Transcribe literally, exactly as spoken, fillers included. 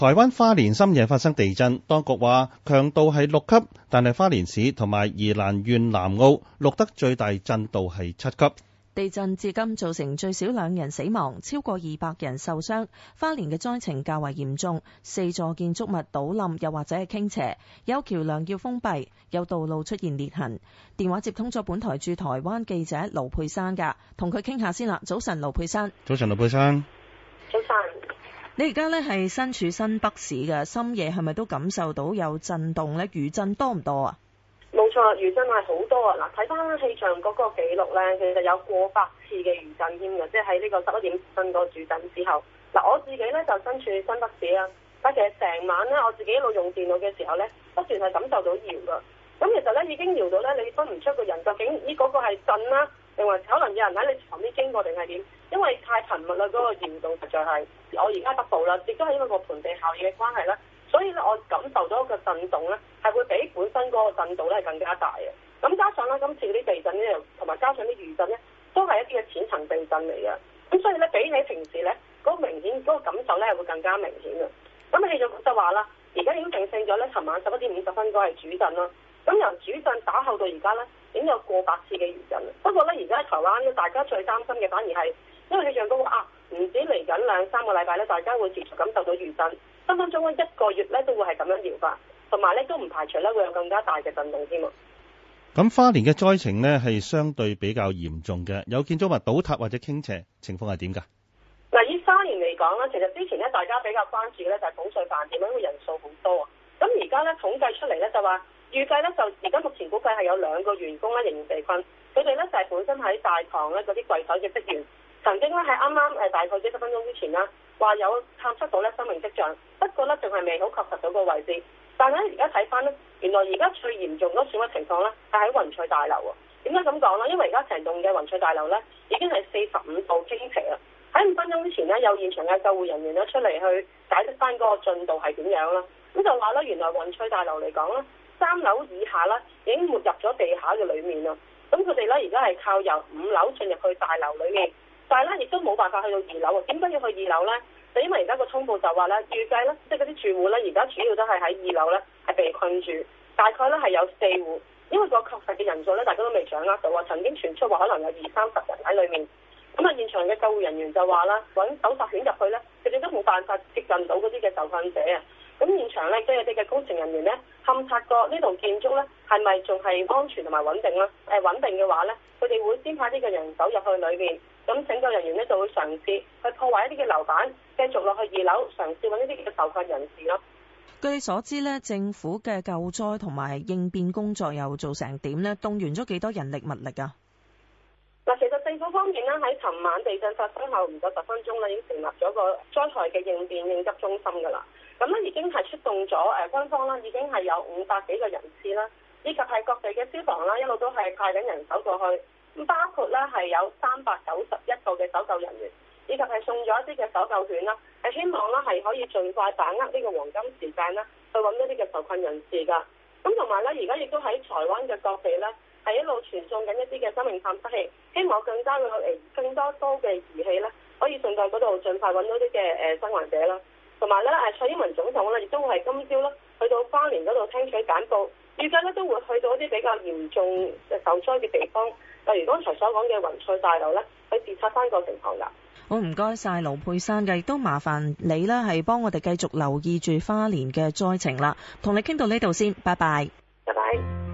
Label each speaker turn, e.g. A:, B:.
A: 台灣花蓮深夜發生地震，當局話強度係六級，但係花蓮市同埋宜蘭縣南澳錄得最大震度係七級。
B: 地震至今造成最少兩人死亡，超過二百人受傷。花蓮嘅災情較為嚴重，四座建築物倒冧又或者係傾斜，有橋梁要封閉，有道路出現裂痕。電話接通咗本台駐台灣記者盧珮珊㗎，同佢傾下先啦。早晨，盧珮珊。
A: 早晨，盧珮珊。
C: 早晨。
B: 你而家咧係身處新北市嘅，深夜係咪都感受到有震動咧？餘震多唔多啊？
C: 冇錯，餘震係好多啊！嗱，睇翻氣象嗰個記錄咧，其實有過百次嘅餘震添嘅，即係喺呢個十一點震個主震之後。嗱，我自己咧就身處新北市啦，但其實成晚咧我自己一路用電腦嘅時候咧，不斷係感受到搖噶。咁其實咧已經搖到咧，你分唔出個人究竟呢嗰個係震啦，定還可能有人喺你旁邊經過定係點？因為太頻密啦，嗰、那個搖動實在係。我而家北部啦，亦都係因為個盆地效應嘅關係啦，所以咧我感受到一個震動咧係會比本身嗰個震度咧係更加大嘅。咁加上咧今次啲地震咧，同埋加上啲餘震咧，都係一啲嘅淺層地震嚟嘅。咁所以咧比起平時咧嗰、那個明顯嗰、那個感受咧係會更加明顯嘅。咁氣象局就話啦，而家已經定性咗咧，尋晚十一點五十分嗰係主震啦。咁由主震打後到而家咧，已經有過百次嘅餘震。不過咧而家喺台灣咧，大家最擔心嘅反而係因為氣象局話啊。唔止嚟緊兩三個禮拜咧，大家會持續感受到餘震，分分鐘咧一個月咧都會係咁樣搖法，同埋咧都唔排除咧會有更加大嘅震動添啊！
A: 咁花蓮嘅災情呢係相對比較嚴重嘅，有建築物倒塌或者傾斜，情況係點㗎？
C: 嗱，以花蓮嚟講咧，其實之前咧大家比較關注嘅咧就係捧水飯店，因為人數好多啊。咁而家咧統計出嚟咧就話，預計咧就而家目前估計係有兩個員工咧仍然被困，佢哋咧就係本身喺大堂咧嗰啲櫃台嘅職員。曾經咧喺啱啱誒大概幾十分鐘之前啦，話有探測到咧生命跡象，不過咧仲係未好確實到個位置。但係咧而家睇翻咧，原來而家最嚴重嗰損毀情況咧係喺雲翠大樓喎。點解咁講咧？因為而家成棟嘅雲翠大樓咧已經係四十五度傾斜啦。喺五分鐘之前咧，有現場嘅救護人員咧出嚟去解釋翻嗰個進度係點樣啦。咁就話咧，原來雲翠大樓嚟講咧，三樓以下咧已經沒入咗地下嘅裡面啦。咁佢哋咧而家係靠由五樓進入去大樓裡面。但係咧，亦都冇辦法去到二樓喎。點解要去二樓呢？就因為而家個通報就話咧，預計咧，即係嗰啲住戶咧，而家主要都係喺二樓咧，係被困住。大概咧係有四戶，因為個確實嘅人數咧，大家都未掌握到啊。曾經傳出話可能有二三十人喺裡面。咁啊，現場嘅救護人員就話啦，揾搜查犬入去咧，佢哋都冇辦法接近到嗰啲嘅受困者啊。咁現場咧，即係啲嘅工程人員咧，勘察過呢棟建築咧，係咪仲係安全同埋穩定咧？誒，穩定嘅話咧，佢哋會先派啲嘅人手入去裏面。咁拯救人員咧就會嘗試去破壞一啲嘅樓板，繼續落去二樓嘗試揾一啲嘅受困人士咯。
B: 據你所知咧，政府嘅救災同埋應變工作又做成點咧？動員咗幾多人力物力啊？
C: 嗱，其實政府方面咧喺尋晚地震發生後唔夠十分鐘咧，已經成立咗個災害嘅應變應急中心㗎啦。咁咧已經係出動咗誒軍方啦，已經係有五百幾個人次啦，以及係各地嘅消防啦，一路都係派緊人手過去。咁包括咧係有三百九十一個嘅搜救人員，以及係送咗一啲嘅搜救犬啦，係希望咧係可以盡快把握呢個黃金時間啦，去揾一啲嘅受困人士噶。咁同埋咧，而家亦都喺台灣嘅各地咧，係一路傳送緊一啲嘅生命探測器，希望更加會有誒更多多嘅儀器咧，可以送到嗰度盡快揾到啲嘅誒生還者啦。同埋咧誒蔡英文總統咧，亦都會係今朝咧去到花蓮嗰度聽取簡報，預計咧都會去到一啲比較嚴重嘅受災嘅地方。例如剛才所講嘅雲翠大樓咧，去視察翻個情況㗎。
B: 好，唔該晒盧珮珊嘅，亦都麻煩你啦，係幫我哋繼續留意住花蓮嘅災情啦。同你傾到呢度先，拜拜。
C: 拜拜。